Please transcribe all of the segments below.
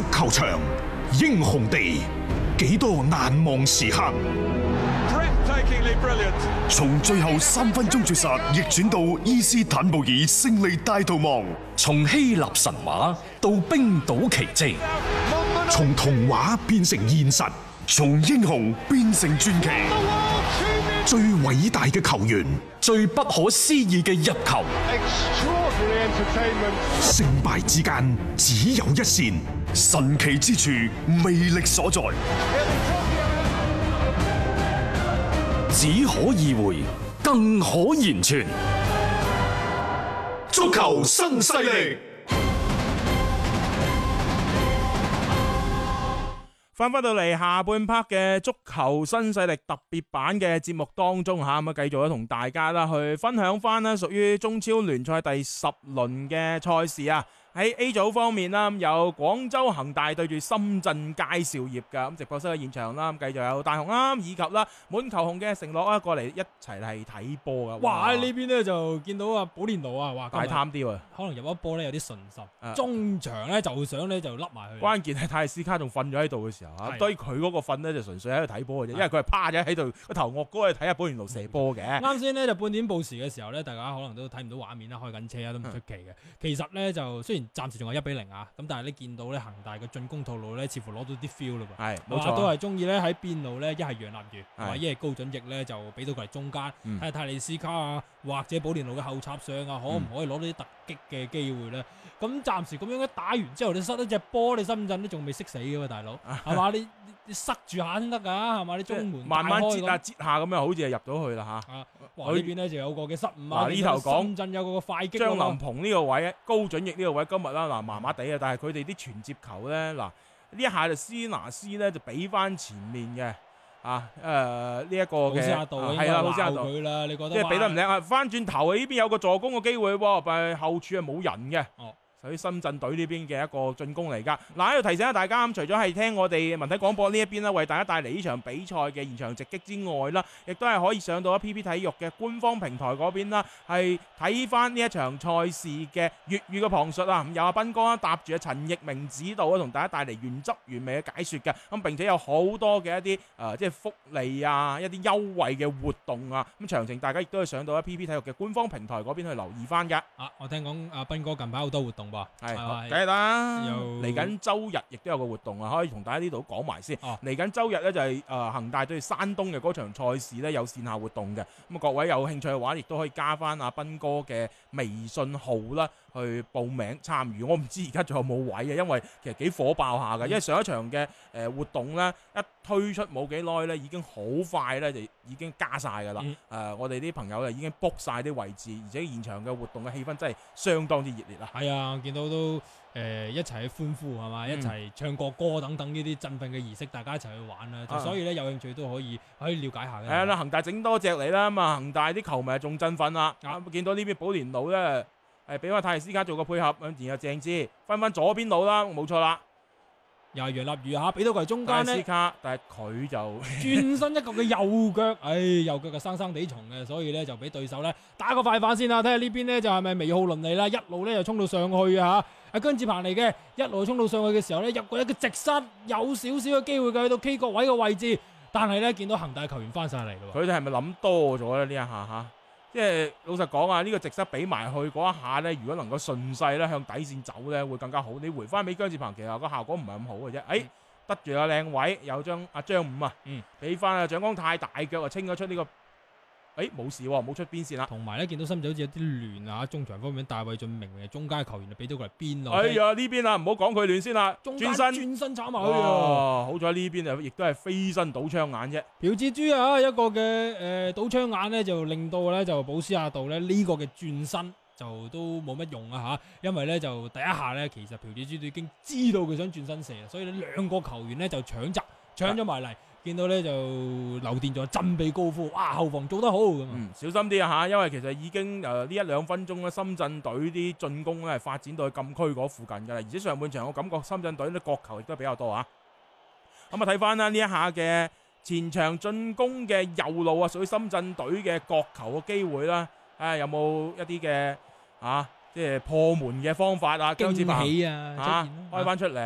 足球場，英雄地，幾多難忘時刻。 從最後3分鐘絕殺逆轉到伊斯坦布爾勝利大逃亡， 從希臘神話到冰島奇蹟， 從童話變成現實， 從英雄變成傳奇。 最偉大嘅球員， 最不可思議嘅入球， 勝敗之間只有一線， 神奇之處魅力所在， 只可意會，更可言傳。 足球新勢力。 翻到嚟下半 part 嘅足球新勢力特別版嘅節目當中吓，咁啊繼續同大家啦去分享翻啦，屬於中超聯賽第10輪嘅賽事啊。喺 A 組方面啦，有廣州恒大對住深圳佳兆業噶，咁直播室嘅現場啦，繼續有大雄啦，以及啦滿球紅嘅承諾啦過嚟一齊係睇波噶。 哇！呢邊咧就見到啊保連奴啊，哇大貪啲喎， 可能入一波咧有啲順心，中場咧就想咧就笠埋去。 關鍵係泰斯卡仲瞓咗喺度嘅時候啊，對佢嗰個瞓咧就純粹喺度睇波嘅啫，因為佢係趴咗喺度個頭惡高去睇下保連奴射波嘅。 啱先咧就半點報時嘅時候咧，大家可能都睇唔到畫面啦，開緊車啊都唔出奇嘅。其實咧就雖然暫時仲係1-0啊，咁但係你見到咧恒大嘅進攻套路咧，似乎攞到啲 feel 嘞噃。 係冇錯， 都係中意咧喺邊路咧，一係楊立瑜，或者一係高準翼咧，就俾到佢嚟中間，睇下泰利斯卡啊，或者保連奴嘅後插上啊，可唔可以攞到啲突擊嘅機會咧？咁暫時咁樣一打完之後，你失咗隻波，你深圳都仲未識死嘅喎，大佬係嘛？你塞住下先得㗎，係嘛？你中門慢慢截下咁樣，好似係入咗去啦嚇。 哇！呢邊咧就有個嘅失誤啊！ 呢頭講深圳有個快擊， 張林鵬呢個位，高準翼呢個位，今日啦嗱麻麻地啊，但係佢哋啲傳接球咧嗱呢一下就斯拿斯咧就俾翻前面嘅呢一個嘅係啦，老師阿道佢啦，你覺得即係俾得唔靚啊？翻轉頭呢邊有個助攻嘅機會喎，但係後處係冇人嘅。喺深圳隊呢邊嘅一個進攻嚟㗎。嗱，喺度提醒下大家，除咗係聽我哋文體廣播呢一邊啦，為大家帶嚟呢場比賽嘅現場直擊之外啦，亦都係可以上到 PP 體育嘅官方平台嗰邊啦，係睇翻呢一場賽事嘅粵語嘅旁述啊。有阿斌哥搭住阿陳奕明指導啊，同大家帶嚟原汁原味嘅解說嘅。咁並且有好多嘅一啲即係福利啊，一啲優惠嘅活動啊。咁詳情大家亦都係上到 PP 體育嘅官方平台嗰邊去留意翻㗎。 我聽講阿斌哥近排好多活動。 係，梗係啦。嚟緊周日亦都有個活動啊，可以同大家呢度講埋先。嚟緊周日咧就係恒大對山東嘅嗰場賽事咧有線下活動嘅。咁各位有興趣嘅話，亦都可以加翻阿斌哥嘅微信號啦，去報名參與。我唔知而家仲有冇位啊，因為其實幾火爆下嘅。因為上一場嘅活動咧一推出冇幾耐咧，已經好快咧就已經加晒㗎啦。我哋啲朋友已經 book 晒啲位置，而且現場嘅活動嘅氣氛真係相當之熱烈啦。 係啊，見到都一齊去歡呼係嘛，一齊唱國歌等等呢啲振奮嘅儀式，大家一齊去玩啦。所以咧有興趣都可以了解下嘅。 係啦，恒大整多隻嚟啦，咁啊恒大啲球迷仲振奮啦。見到呢邊保連奴咧係俾翻泰斯卡做個配合，然後鄭智分翻左邊路啦，冇錯啦。 又係楊立瑜俾到佢中間咧， 但係佢就轉身一個嘅右腳，右腳就生生地重嘅，所以咧就俾對手咧打個快反先啦。睇下呢邊咧就係咪微浩倫嚟啦，一路咧就衝到上去啊！阿姜志鵬嚟嘅，一路衝到上去嘅時候咧入過一個直塞，有少少嘅機會嘅去到 K 角位嘅位置，但係咧見到恒大球員翻晒嚟咯。 佢哋係咪諗多咗咧呢一下嚇？即係老實講啊，呢個直塞俾埋去嗰一下咧，如果能夠順勢咧向底線走咧，會更加好。你回翻俾姜志鵬，其實個效果唔係咁好嘅啫。得住個靚位，有張五啊，俾翻啊蔣光太大腳啊，清咗出呢個。冇事喎，冇出邊線啦。 同埋咧，見到深圳好似有啲亂啊！中場方面，戴偉俊明明係中間球員，就俾到佢嚟邊咯。 呢邊啊，唔好講佢亂先啦。 轉身炒埋去好彩呢邊啊，亦都係飛身倒槍眼啫。 朴志洙啊，一個嘅倒槍眼咧，就令到咧就保斯亞道咧呢個嘅轉身就都冇乜用啊嚇，因為咧就第一下咧，其實朴志洙都已經知道佢想轉身射，所以兩個球員咧就搶咗埋嚟。見到咧就劉殿座振臂高呼，哇！後防做得好咁。 小心啲啊嚇，因為其實已經呢1-2分鐘咧，深圳隊啲進攻咧係發展到去禁區嗰附近㗎啦，而且上半場我感覺深圳隊啲角球亦都比較多啊。咁睇翻啦呢一下嘅前場進攻嘅右路啊，屬於深圳隊嘅角球嘅機會啦，有冇一啲嘅即係破門嘅方法啊？姜志鵬開翻出嚟。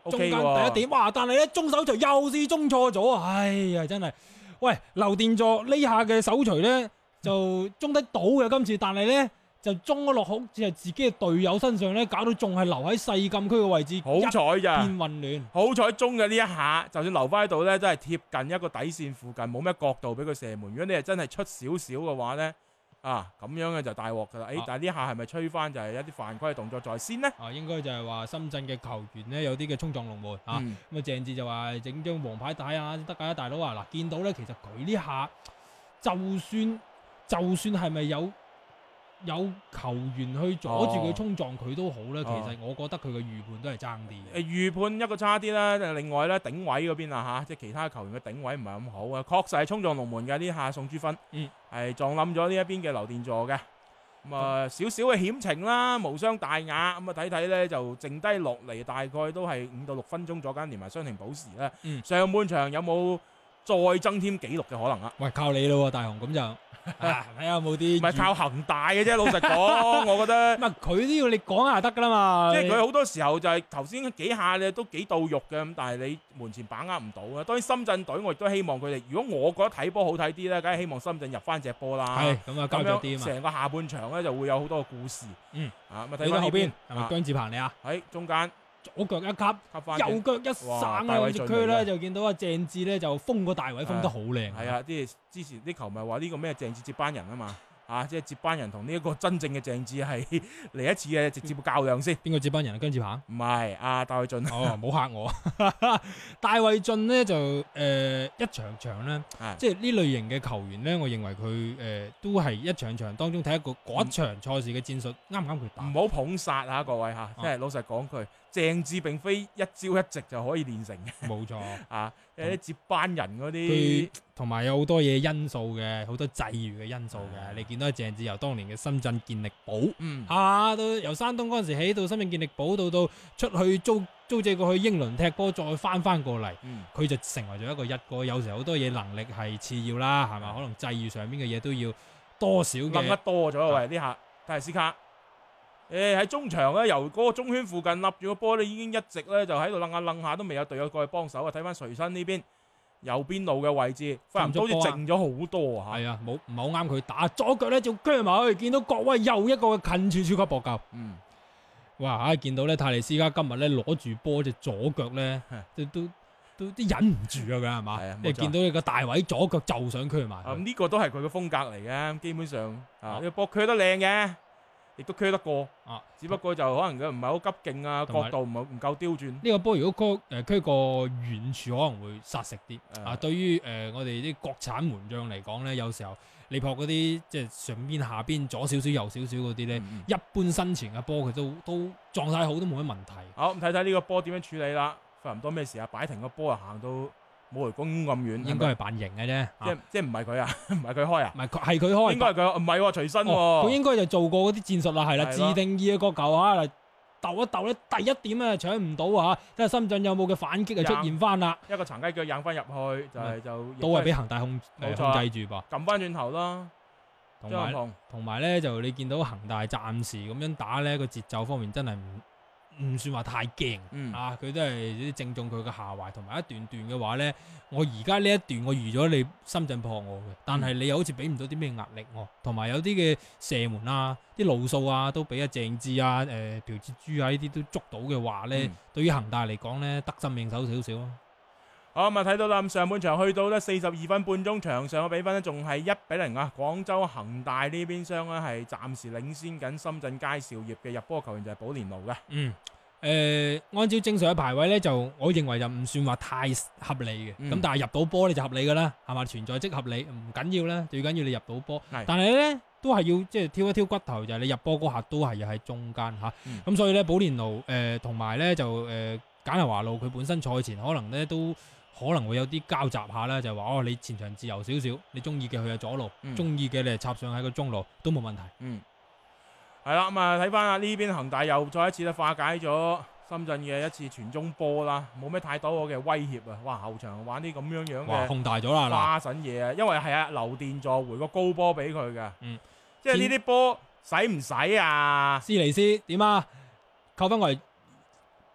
中間 OK 喎第一點，哇！但係咧中手錘又是中錯咗啊！哎呀，真係，喂，劉殿座呢下嘅手錘咧就中得到嘅今次，但係咧就中咗落好似係自己嘅隊友身上咧，搞到仲係留喺細禁區嘅位置， 好彩咋， 變混亂。 好彩中嘅呢一下，就算留翻喺度咧，真係貼近一個底線附近，冇咩角度俾佢射門。如果你係真係出少少嘅話咧，咁樣嘅就大鑊噶啦。但係呢下係咪吹翻就係一啲犯規嘅動作在先呢？ 應該就係話深圳嘅球員呢，有啲嘅衝撞龍門咁啊鄭智就話整張黃牌帶啊得㗎，大佬啊嗱，見到咧其實佢呢下就算係咪有球員去阻住佢衝撞佢都好咧，其實我覺得佢嘅預判都係爭啲嘅。 預判一個差啲啦，另外咧頂位嗰邊即係其他球員嘅頂位唔係咁好啊，確實係衝撞龍門嘅呢下宋朱芬，係撞冧咗呢一邊嘅劉殿座嘅。咁少少嘅險情啦，無傷大雅。咁睇睇咧就剩低落嚟大概都係5到6分鐘左右，連埋傷停補時啦。上半場有冇再增添紀錄嘅可能啊？ 喂，靠你咯，大雄咁就睇下有冇啲。 唔係靠恒大嘅啫，老實講，我覺得。 唔係佢都要你講下得㗎啦嘛。 即係佢好多時候就係頭先幾下咧都幾到肉嘅，咁但係你門前把握唔到啊。當然深圳隊我亦都希望佢哋，如果我覺得睇波好睇啲咧，梗係希望深圳入翻隻波啦。 係咁啊，交咗啲啊嘛。 成個下半場咧就會有好多個故事。睇翻後邊係咪姜志鵬你啊？ 喺中間。 左腳一級，右腳一省啊！隻區咧就見到鄭智咧就封個大位封得好靚。 係啊，啲之前啲球迷話呢個咩鄭智接班人啊嘛，即係接班人同呢一個真正嘅鄭智係嚟一次嘅直接較量先。 邊個接班人啊？姜志鵬？ 唔係戴偉浚。 哦，唔好嚇我。戴偉浚呢就一場場咧，即係呢類型嘅球員咧，我認為佢都係一場場當中睇一個嗰一場賽事嘅戰術啱唔啱佢打。唔好捧殺嚇各位嚇，即係老實講句。鄭智並非一朝一夕就可以練成嘅， 冇錯有啲接班人嗰啲， 同埋有好多嘢因素嘅，好多際遇嘅因素嘅。你見到鄭智由當年嘅深圳健力寶，到由山東嗰陣時起到深圳健力寶，到出去租借過去英倫踢波，再翻過嚟，佢就成為咗一個一哥。有時候好多嘢能力係次要啦，係嘛？可能際遇上面嘅嘢都要多少嘅。 諗得多咗喂，呢下泰斯卡。喺中場咧，由嗰個中圈附近立住個波咧，已經一直咧就喺度楞下，都未有隊友過去幫手啊！睇翻垂身呢邊右邊路嘅位置，忽然好似靜咗好多啊！ 係啊，唔係好啱佢打，左腳咧就鋸埋去，見到郭威又一個近處超級搏救。哇！見到咧泰利斯卡今日咧攞住波隻左腳咧，都忍唔住啊！佢係嘛？你見到你個大位左腳就想鋸埋。 呢個都係佢嘅風格嚟嘅，基本上呢個波鋸得靚嘅。亦都鋸得過，只不過就可能佢唔係好急勁啊，角度唔夠刁鑽。 呢個波如果鋸過遠處可能會殺食啲。對於我哋啲國產門將嚟講咧，有時候你撲嗰啲即係上邊下邊左少少右少少嗰啲咧，一般身前嘅波佢都狀態好都冇乜問題。 好，咁睇睇呢個波點樣處理啦。費唔多咩事啊？擺停個波啊，行到冇雷公咁遠， 應該係扮型嘅啫。 即係唔係佢啊？唔係佢開啊？ 唔係係佢開。 應該係佢，唔係喎，隨身喎。 佢應該就做過嗰啲戰術啦，係啦，自定義嘅角球啊，鬥一鬥咧，第一點啊搶唔到啊，睇下深圳有冇嘅反擊啊出現翻啦。 一個長雞腳引翻入去，就都係俾恒大控制住噃， 撳翻轉頭啦。 同埋咧，就你見到恒大暫時咁樣打咧，個節奏方面真係唔算話太驚，佢都係啲正中佢嘅下懷，同埋一段段嘅話咧，我而家呢一段我預咗你深圳破我嘅，但係你又好似俾唔到啲咩壓力我，同埋有啲嘅射門啊、啲路數啊都俾阿鄭智啊、朴志洙啊呢啲都捉到嘅話咧，對於恒大嚟講咧得心應手少少咯。 好咁啊，睇到啦，咁上半場去到咧42分半鐘，場上嘅比分咧仲係1-0啊！廣州恒大呢邊廂咧係暫時領先緊深圳佳兆業嘅，入波球員就係保連奴嘅。 按照正常嘅排位咧，就我認為就唔算話太合理嘅。咁但係入到波你就合理噶啦，係嘛？存在即合理，唔緊要啦，最緊要你入到波。但係咧都係要即係挑一挑骨頭，就係你入波嗰下都係要喺中間嚇。咁所以咧保連奴同埋咧就簡拿華路佢本身賽前可能咧都可能會有啲交集下啦，就係話你前場自由少少，你中意嘅去下左路，中意嘅你插上喺個中路都冇問題。 係啦，咁啊睇翻啊呢邊恒大又再一次咧化解咗深圳嘅一次傳中波啦，冇咩太多嘅威脅啊！哇，後場玩啲咁樣嘅控大咗啦， 花神嘢啊！因為係啊劉殿座回個高波俾佢嘅，即係呢啲波使唔使啊？ 斯尼斯點啊？扣分為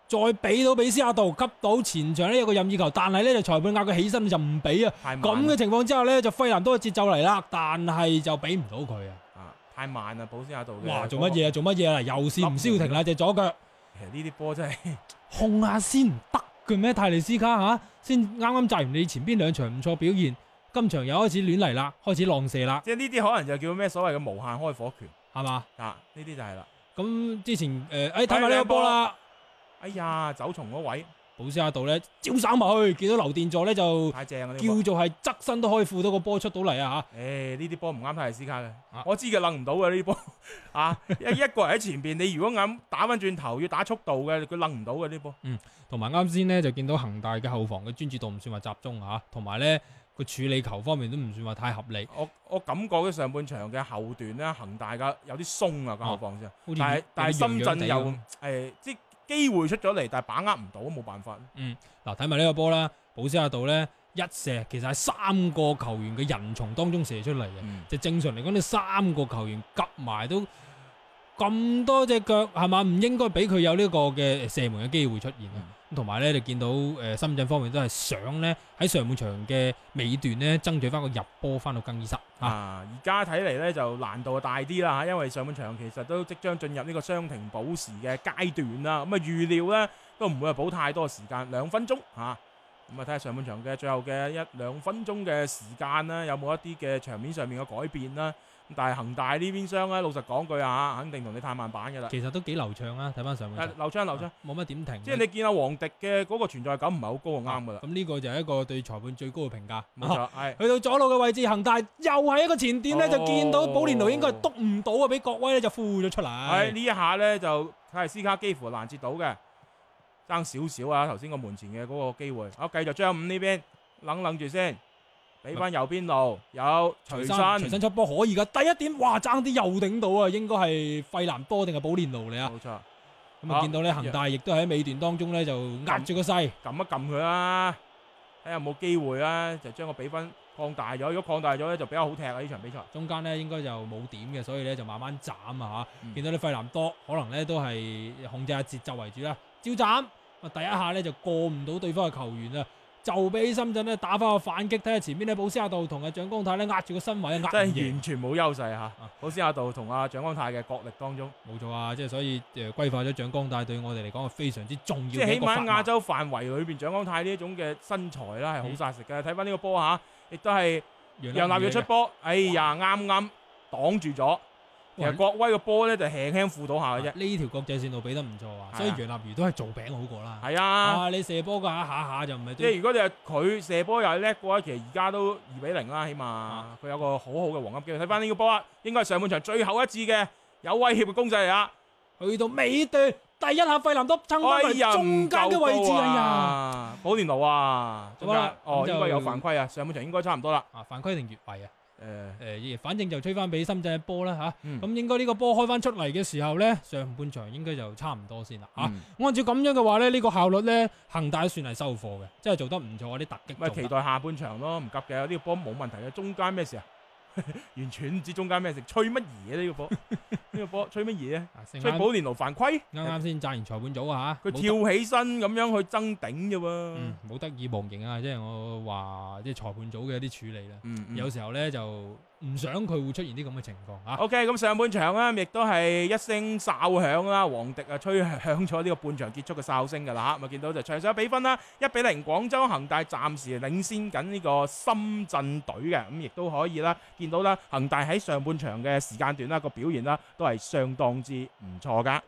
再俾到比斯亞道，急到前場呢有個任意球，但係呢就裁判嗌佢起身就唔俾啊。咁嘅情況之下呢，就費南多嘅節奏嚟啦，但係就俾唔到佢啊。 太慢啦，保斯亞道嘅。 哇！做乜嘢啊？做乜嘢啊？又是唔消停啦隻左腳。 其實呢啲波真係控下先唔得嘅咩？泰利斯卡嚇先啱啱賺完你前邊兩場唔錯表現，今場又開始亂嚟啦，開始浪射啦。 即係呢啲可能就叫咩所謂嘅無限開火權係嘛？ 呢啲就係啦。 咁之前睇埋呢個波啦。 哎呀，走從嗰位， 保斯亞道咧招手埋去，見到劉殿座咧就太正啦！ 叫做係側身都可以扶到個波出到嚟啊嚇！ 呢啲波唔啱泰利斯卡嘅，我知佢掕唔到嘅呢啲波一個人喺前邊，你如果啱打翻轉頭要打速度嘅，佢掕唔到嘅呢波。 同埋啱先呢，就見到恒大嘅後防嘅專注度唔算話集中嚇，同埋咧個處理球方面都唔算話太合理。 我感覺嘅上半場嘅後段咧，恒大嘅有啲鬆啊個後防先，但係深圳又即機會出咗嚟，但係把握唔到，冇辦法。 嗱睇埋呢個波啦，保斯亞道咧一射，其實係3個球員嘅人從當中射出嚟嘅，就正常嚟講，你3個球員夾埋都咁多隻腳係嘛，唔應該俾佢有呢個嘅射門嘅機會出現啊！同埋咧，你見到深圳方面都係想咧喺上半場嘅尾段咧爭取翻個入波翻到更衣室而家睇嚟咧就難度大啲啦，因為上半場其實都即將進入呢個傷停補時嘅階段啦。咁預料咧都唔會係補太多時間，2分鐘咁睇下上半場嘅最後嘅1-2分鐘嘅時間啦，有冇一啲嘅場面上面嘅改變啦？但係恒大呢邊廂咧，老實講句肯定同你太慢板嘅啦。 其實都幾流暢啊，睇翻上半場。 流暢， 冇乜點停。 即係你見阿黃迪嘅嗰個存在感唔係好高就啱噶啦。 咁呢個就係一個對裁判最高嘅評價。 冇錯，係去到左路嘅位置，恒大又係一個前點咧，就見到保連奴應該係篤唔到啊，俾國威咧就呼咗出嚟。 係呢一下咧就泰利斯卡幾乎攔截到嘅，爭少少啊！頭先個門前嘅嗰個機會。好，繼續張五呢邊冷住先。俾翻右邊路有隨身出波可以噶，第一點哇爭啲又頂到啊，應該係費南多定係保連奴嚟啊？ 冇錯。 咁啊見到咧恒大亦都喺尾段當中咧就壓住個勢， 撳一撳佢啦，睇下有冇機會啦，就將個比分擴大咗。如果擴大咗咧就比較好踢啊！呢場比賽中間咧應該就冇點嘅，所以咧就慢慢斬啊嚇。見到啲費南多可能咧都係控制下節奏為主啦，照斬第一下咧就過唔到對方嘅球員啊。就俾深圳咧打翻個反擊，睇下前邊咧保斯亞道同阿蔣光太咧壓住個身位， 真係完全冇優勢嚇。保斯亞道同阿蔣光太嘅角力當中， 冇錯啊！即係所以歸化咗蔣光太對我哋嚟講係非常之重要嘅。 即係起碼亞洲範圍裏邊，蔣光太呢一種嘅身材啦係好殺食嘅。睇翻呢個波亦都係楊立耀出波，哎呀啱啱擋住咗。其實國威嘅波咧就輕輕負到下嘅啫。 呢條國際線路俾得唔錯啊，所以楊立瑜都係做餅好過啦。 係啊， 你射波嘅下就唔係。 即係如果你係佢射波又係叻嘅話，其實而家都2-0啦，起碼佢有個好好嘅黃金機會。睇翻呢個波應該係上半場最後一次嘅有威脅嘅攻勢嚟啊！ 去到尾段第一下費南多撐翻嚟中間嘅位置啊！ 保連奴啊，中間應該有犯規啊！上半場應該差唔多啦。 犯規定越位啊？反正就吹翻俾深圳嘅波啦嚇，咁應該呢個波開翻出嚟嘅時候呢，上半場應該就差唔多先啦嚇。按照咁樣嘅話呢，呢個效率呢，恒大算係收貨嘅，真係做得唔錯，啲突擊。 咪期待下半場咯，唔急嘅，呢個波冇問題嘅。中間咩事啊？完全唔知中間咩事，吹乜嘢呢個波？呢個波吹乜嘢啊？吹保連奴犯規？啱啱先贊完裁判組啊嚇， 佢跳起身咁樣去爭頂啫喎。 冇得意忘形啊！即係我話即係裁判組嘅一啲處理啦。有時候咧就唔想佢會出現啲咁嘅情況嚇。 OK， 咁上半場咧亦都係一聲哨響啦，黃迪吹響咗呢個半場結束嘅哨聲㗎啦嚇。咪見到就場上比分啦，1-0，廣州恒大暫時領先緊呢個深圳隊嘅，咁亦都可以啦。見到啦，恒大喺上半場嘅時間段啦個表現啦都係相當之唔錯噶。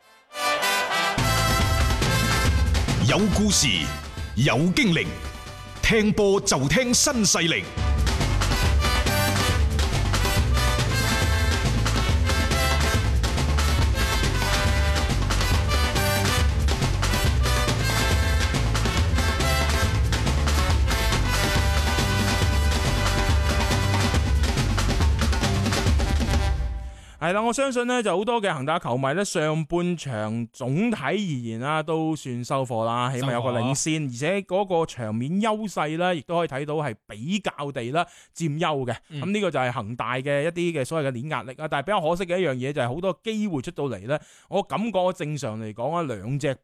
有故事，有經歷，聽波就聽新勢力。 係啦，我相信呢就好多嘅恒大球迷呢，上半場總體而言啦，都算收貨啦，起碼有個領先，而且嗰個場面優勢呢，亦都可以睇到係比較地啦佔優嘅。咁呢個就係恒大嘅一啲嘅所謂嘅碾壓力啊。但係比較可惜嘅一樣嘢就係好多機會出到嚟呢，我感覺正常嚟講啊，兩隻波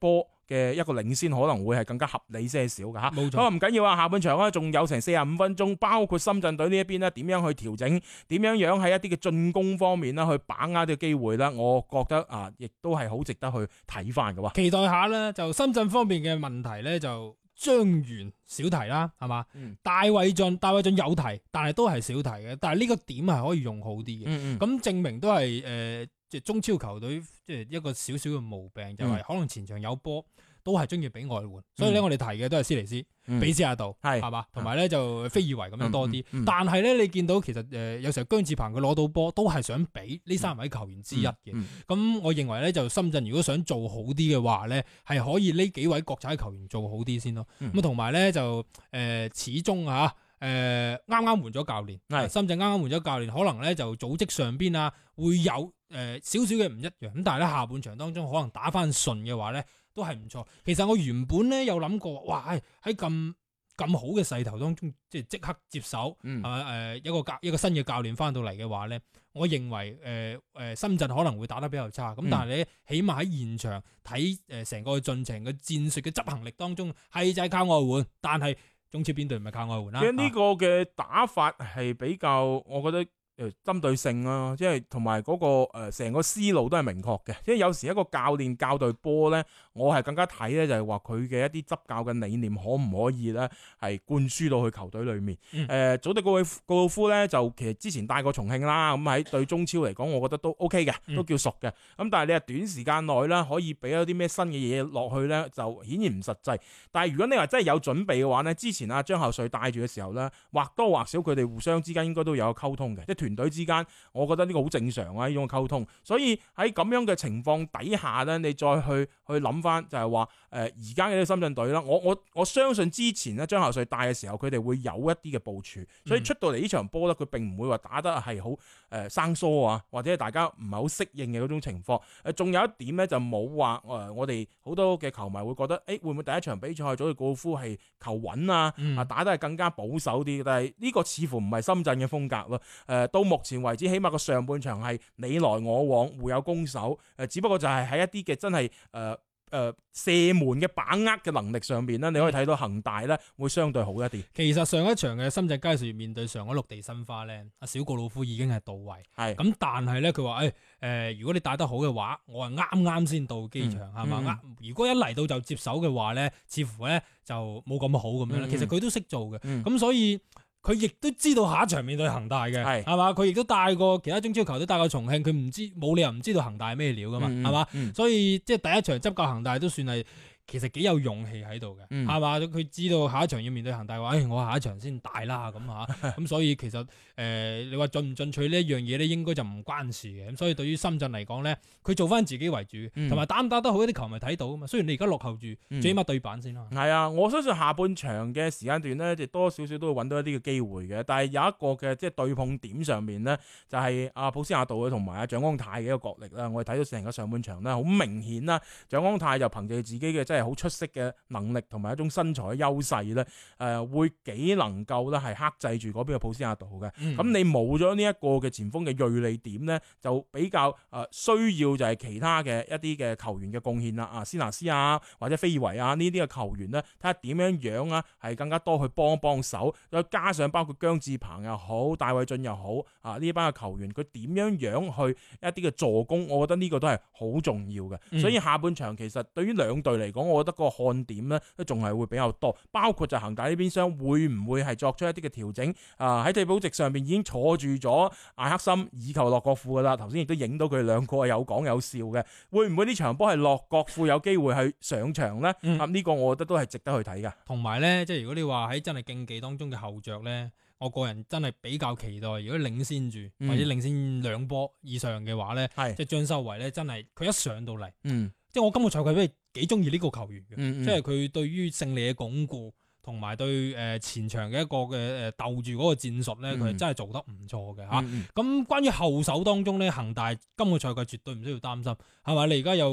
嘅一個領先可能會係更加合理些少嘅嚇。 冇錯不過唔緊要啊，下半場咧仲有成45分鐘，包括深圳隊呢一邊咧點樣去調整，點樣喺一啲嘅進攻方面啦去把握呢個機會啦，我覺得啊，亦都係好值得去睇翻嘅喎。 期待下咧，就深圳方面嘅問題咧就張元少提啦，係嘛？戴偉俊有提，但係都係少提嘅。但係呢個點係可以用好啲嘅。咁證明都係即係中超球隊即係一個少少嘅毛病，就係可能前場有波都係中意俾外援。所以咧，我哋提嘅都係斯尼斯、比斯亞道，係嘛？同埋咧就菲爾維咁樣多啲。但係咧，你見到其實有時候姜志鵬佢攞到波都係想俾呢3位球員之一嘅。咁我認為咧，就深圳如果想做好啲嘅話咧，係可以呢幾位國際球員做好啲先咯。咁同埋咧就始終嚇。啱啱換咗教練，深圳啱啱換咗教練，可能咧就組織上邊啊會有少少嘅唔一樣，咁但係咧下半場當中可能打翻順嘅話咧都係唔錯。其實我原本咧有諗過，哇喺咁好嘅勢頭當中，即刻接手，一個新嘅教練翻到嚟嘅話咧，我認為深圳可能會打得比較差，咁但係你起碼喺現場睇成個進程嘅戰術嘅執行力當中係就係靠外援，但係中超邊隊唔係靠外援啦？ 其實呢個嘅打法係比較，我覺得針對性啦，即係同埋嗰個成個思路都係明確嘅。即係有時一個教練教隊波咧，我係更加睇咧就係話佢嘅一啲執教嘅理念可唔可以咧係灌輸到去球隊裏面。祖迪高魯夫咧就其實之前帶過重慶啦，咁喺對中超嚟講，我覺得都 OK 嘅，都叫熟嘅。咁但係你係短時間內啦，可以俾咗啲咩新嘅嘢落去咧，就顯然唔實際。但係如果你話真係有準備嘅話咧，之前阿張孝瑞帶住嘅時候咧，或多或少佢哋互相之間應該都有溝通嘅，即係團隊之間，我覺得呢個好正常啊，呢種溝通。所以喺咁樣嘅情況底下咧，你再去諗翻就係話而家嘅深圳隊啦，我相信之前咧張孝瑞帶嘅時候，佢哋會有一啲嘅部署，所以出到嚟呢場波咧，佢並唔會話打得係好生疏啊，或者大家唔係好適應嘅嗰種情況。仲有一點咧就冇話我哋好多嘅球迷會覺得，會唔會第一場比賽祖迪高魯夫係求穩啊，打得係更加保守啲？但係呢個似乎唔係深圳嘅風格咯。到目前為止，起碼個上半場係你來我往，互有攻守。只不過就係喺一啲嘅真係射門嘅把握嘅能力上邊咧，你可以睇到恒大咧會相對好一啲。 其實上一場嘅深圳佳兆業面對上海綠地申花咧，阿小告魯夫已經係到位。係咁，但係咧佢話如果你打得好嘅話，我係啱啱先到機場係嘛？如果一嚟到就接手嘅話咧，似乎咧就冇咁好咁樣。其實佢都識做嘅，咁所以。佢亦都知道下一場面對恒大嘅，係嘛？佢亦都帶過其他中超球隊帶過重慶，佢冇理由唔知道恒大係咩料噶嘛，係嘛？所以即係第一場執教恒大都算係其實幾有勇氣喺度嘅，係嘛？佢知道下一場要面對恒大嘅話，我下一場先大啦咁嚇，咁所以其實你話進唔進取呢一樣嘢咧，應該就唔關事嘅。咁所以對於深圳嚟講咧，佢做翻自己為主，同埋打唔打得好，一啲球迷睇到啊嘛。雖然你而家落後住，最起碼對板先啦。係啊，我相信下半場嘅時間段咧，就多少少都會揾到一啲嘅機會嘅。但係有一個嘅即係對碰點上面咧，就係阿普斯亞道同埋阿蔣光太嘅一個角力啦。我哋睇到成個上半場咧，好明顯啦，蔣光太就憑借自己嘅真係好出色嘅能力同埋一種身材嘅優勢咧，會幾能夠咧係克制住嗰邊嘅普斯亞道嘅。咁你冇咗呢一個嘅前鋒嘅銳利點咧，就比較需要就係其他嘅一啲嘅球員嘅貢獻啦，斯拿斯啊或者菲爾維啊呢啲嘅球員咧，睇下點樣啊係更加多去幫手，再加上包括姜志鵬又好、戴偉俊又好呢班嘅球員，佢點樣去一啲嘅助攻，我覺得呢個都係好重要嘅。所以下半場其實對於兩隊嚟講，我覺得個看點咧都仲係會比較多，包括就恒大呢邊廂會唔會係作出一啲嘅調整？喺替補席上面已經坐住咗艾克森以及洛國富噶啦，頭先亦都影到佢哋兩個係有講有笑嘅，會唔會呢場波係洛國富有機會去上場呢？呢個我覺得都係值得去睇嘅。 同埋呢，即係如果你話喺真係競技當中嘅後着呢，我個人真係比較期待，如果領先住或者領先2波以上嘅話呢，即係張修維呢，真係佢一上到嚟，即係我今個賽季都係幾中意呢個球員嘅，即係佢對於勝利嘅鞏固。同埋對前場嘅一個嘅鬥住嗰個戰術咧，佢係真係做得唔錯嘅嚇。咁關於後手當中咧，恒大今個賽季絕對唔需要擔心，係咪？你而家有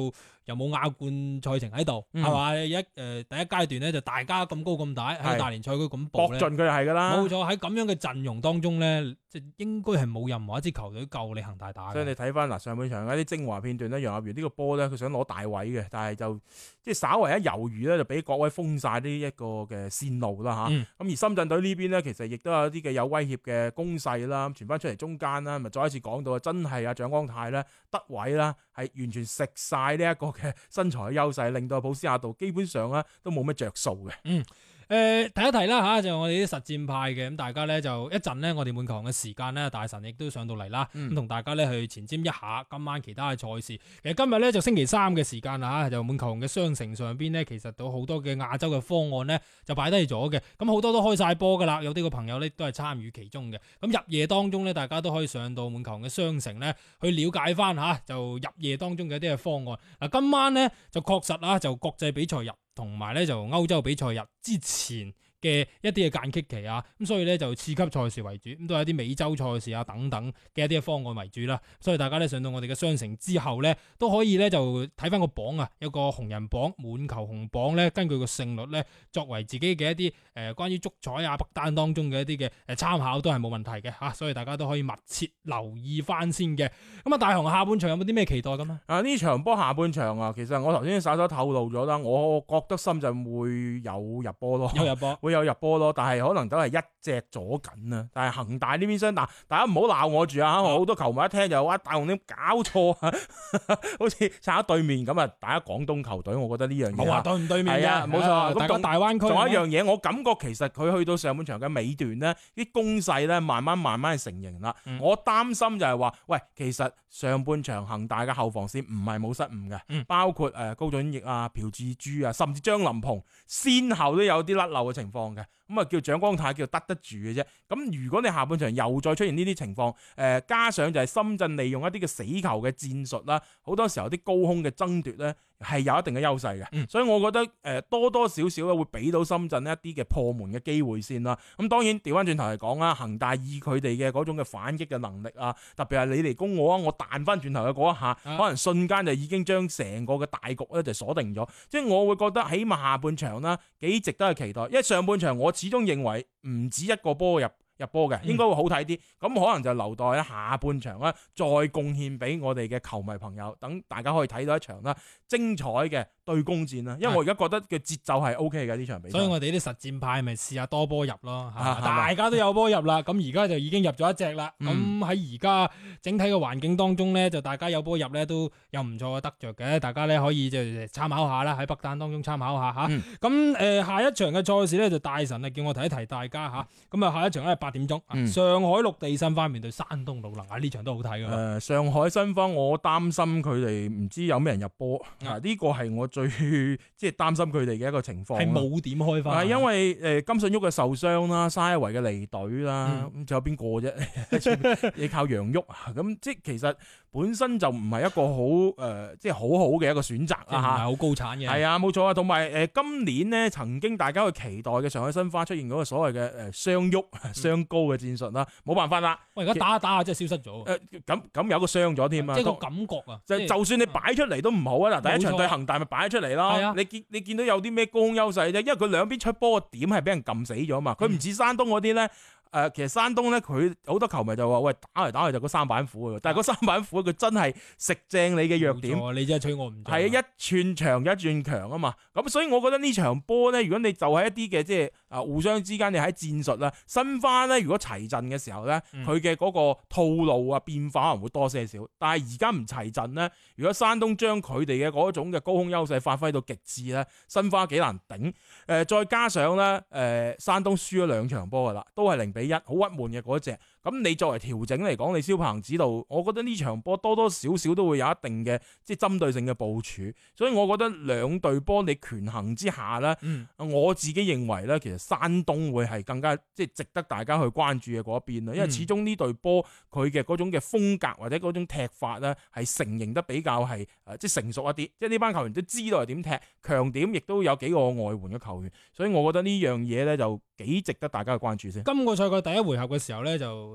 又冇亞冠賽程喺度，係嘛？第一階段咧就大家咁高咁大喺大連賽區咁搏搏咧， 盡佢係㗎啦。 冇錯，喺咁樣嘅陣容當中咧，即係應該係冇任何一支球隊夠你恒大打嘅。 所以你睇翻嗱上半場一啲精華片段咧，楊立瑜呢個波咧，佢想攞大位嘅，但係就即係稍為一猶豫咧，就俾各位封晒呢一個嘅線路啦嚇。咁而深圳隊呢邊咧，其實亦都有啲嘅有威脅嘅攻勢啦，傳翻出嚟中間啦，咪再一次講到真係啊蔣光太咧得位啦，係完全食晒呢一個嘅身材嘅優勢，令到普斯亞道基本上咧都冇乜着數嘅。 提一提啦嚇，就我哋啲實戰派嘅咁，大家咧就一陣咧，我哋滿球嘅時間咧，大神亦都上到嚟啦，咁同大家咧去前瞻一下今晚其他嘅賽事。其實今日咧就星期三嘅時間啦嚇，就滿球嘅商城上邊咧，其實都好多嘅亞洲嘅方案咧就擺低咗嘅，咁好多都開晒波噶啦，有啲個朋友咧都係參與其中嘅。咁入夜當中咧，大家都可以上到滿球嘅商城咧去了解翻嚇，就入夜當中嘅一啲嘅方案。嗱，今晚咧就確實啦，就國際比賽日。同埋咧就歐洲比賽日之前嘅一啲嘅間隙期啊，咁所以咧就次級賽事為主，咁都係一啲美洲賽事啊等等嘅一啲嘅方案為主啦。所以大家咧上到我哋嘅商城之後咧，都可以咧就睇翻個榜啊，有個紅人榜、滿球紅榜咧，根據個勝率咧作為自己嘅一啲關於足彩啊北單當中嘅一啲嘅參考都係冇問題嘅嚇，所以大家都可以密切留意翻先嘅。咁啊，大雄下半場有冇啲咩期待咁啊？ 呢場波下半場啊，其實我頭先稍稍透露咗啦，我覺得深圳會有入波咯，會有入波咯，但係可能都係一隻左緊啊。但係恒大呢邊廂，大家唔好鬧我住啊！我好多球迷一聽就話大雄你搞錯啊，好似撐喺對面咁啊！大家廣東球隊，我覺得呢樣嘢冇話對唔對面係啊，冇錯。 大家大灣區仲有一樣嘢，我感覺其實佢去到上半場嘅尾段呢，啲攻勢咧慢慢成型啦。我擔心就係話，喂，其實上半場恒大嘅後防線唔係冇失誤嘅，包括高準翼啊、朴志洙啊，甚至張林鵬先後都有啲甩漏嘅情況嘅。咁啊叫蔣光太叫得住嘅啫。咁如果你下半場又再出現呢啲情況，加上就係深圳利用一啲嘅死球嘅戰術啦，好多時候啲高空嘅爭奪咧係有一定嘅優勢嘅。所以我覺得多多少少咧會俾到深圳一啲嘅破門嘅機會先啦。咁當然調翻轉頭嚟講啦，恒大以佢哋嘅嗰種嘅反擊嘅能力啊，特別係你嚟攻我啊，我彈翻轉頭嘅嗰一下，可能瞬間就已經將成個嘅大局咧就鎖定咗。即係我會覺得起碼下半場啦幾值得去期待，因為上半場我始終認為唔止一個波入波嘅，應該會好睇啲。咁可能就留待咧下半場咧再貢獻俾我哋嘅球迷朋友，等大家可以睇到一場啦精彩嘅對攻戰啦。因為我而家覺得嘅節奏係 O K 嘅呢場比賽。 所以我哋啲實戰派咪試下多波入咯，大家都有波入啦。咁而家就已經入咗一隻啦。咁喺而家整體嘅環境當中咧，就大家有波入咧都有唔錯嘅得着嘅。大家咧可以就參考下啦，喺北單當中參考下嚇。咁下一場嘅賽事咧就大神啊叫我提一提大家嚇。咁啊下一場咧8點鐘，上海綠地申花面對山東魯能啊，呢場都好睇㗎。 上海申花我擔心佢哋唔知有咩人入波，呢個係我最即係擔心佢哋嘅一個情況。 係冇點開花， 因為金信煜嘅受傷啦，沙維嘅離隊啦，咁仲有邊個啫？你靠楊旭啊，咁即係其實本身就唔係一個好即係好好嘅一個選擇啦嚇，唔係好高產嘅。 係啊，冇錯啊。同埋今年呢曾經大家去期待嘅上海申花出現嗰個所謂嘅雙旭雙高嘅戰術啦，冇辦法啦。 喂，而家打下打下真係消失咗。 咁有個傷咗添啊， 即係個感覺啊。 就算你擺出嚟都唔好啊！嗱，第一場對恒大咪擺出嚟咯。你見到有啲咩高空優勢啫？因為佢兩邊出波嘅點係俾人撳死咗嘛。佢唔似山東嗰啲咧。其實山東咧，佢好多球迷就話：喂，打嚟打去就個三板斧嘅。但係嗰三板斧佢真係食正你嘅弱點。 你真係吹我唔中。 係啊，一寸長一寸強啊嘛。咁所以我覺得呢場波咧，如果你就係一啲嘅即係互相之間你喺戰術啦，申花咧如果齊陣嘅時候咧，佢嘅嗰個套路啊變化可能會多些少。但係而家唔齊陣咧，如果山東將佢哋嘅嗰種嘅高空優勢發揮到極致咧，申花幾難頂。再加上咧，山東輸咗2場波噶啦，都係0-1，好鬱悶嘅嗰隻。咁你作為調整嚟講，你蕭鵬指導，我覺得呢場波多多少少都會有一定嘅即係針對性嘅部署。所以我覺得兩隊波你權衡之下咧，我自己認為咧，其實山東會係更加即係值得大家去關注嘅嗰一邊啦。因為始終呢隊波佢嘅嗰種嘅風格或者嗰種踢法咧，係成型得比較係即係成熟一啲。即係呢班球員都知道係點踢，強點亦都有幾個外援嘅球員。所以我覺得呢樣嘢咧就幾值得大家去關注先。 今個賽季第一回合嘅時候咧，就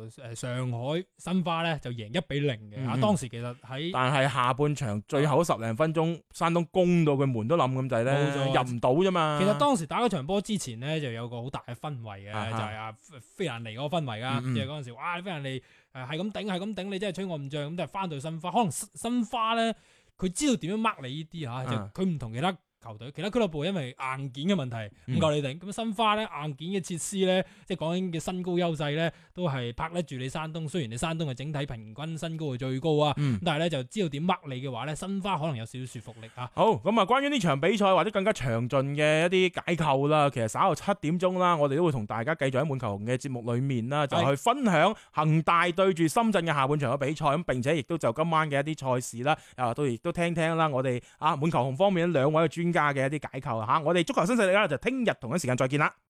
上海申花咧就贏1-0嘅。當時其實但係下半場最後10零分鐘，山東攻到佢門都冧咁滯咧，入唔到啫嘛。 其實當時打嗰場波之前咧，就有個好大嘅氛圍嘅，就係菲蘭尼嗰個氛圍噶，即係嗰陣時，哇！菲蘭尼係咁頂，你真係吹我唔脹咁，但係翻到申花，可能申花咧佢知道點樣 mark 你呢啲嚇，就佢唔同其他球隊，其他俱樂部因為硬件嘅問題唔夠你頂，咁申花咧硬件嘅設施咧，即係講緊嘅身高優勢咧，都係拍得住你山東。雖然你山東嘅整體平均身高係最高啊，但係咧就知道點 mark 你嘅話咧，申花可能有少少說服力啊。 好，咁啊，關於呢場比賽或者更加詳盡嘅一啲解構啦，其實稍後7點鐘啦，我哋都會同大家繼續喺滿球紅嘅節目裏面啦，就去分享恒大對住深圳嘅下半場嘅比賽，咁並且亦都就今晚嘅一啲賽事啦，都亦都聽聽啦，我哋滿球紅方面2位嘅專家嘅一啲解構。我哋足球新勢力啦，就聽日同一時間再見啦。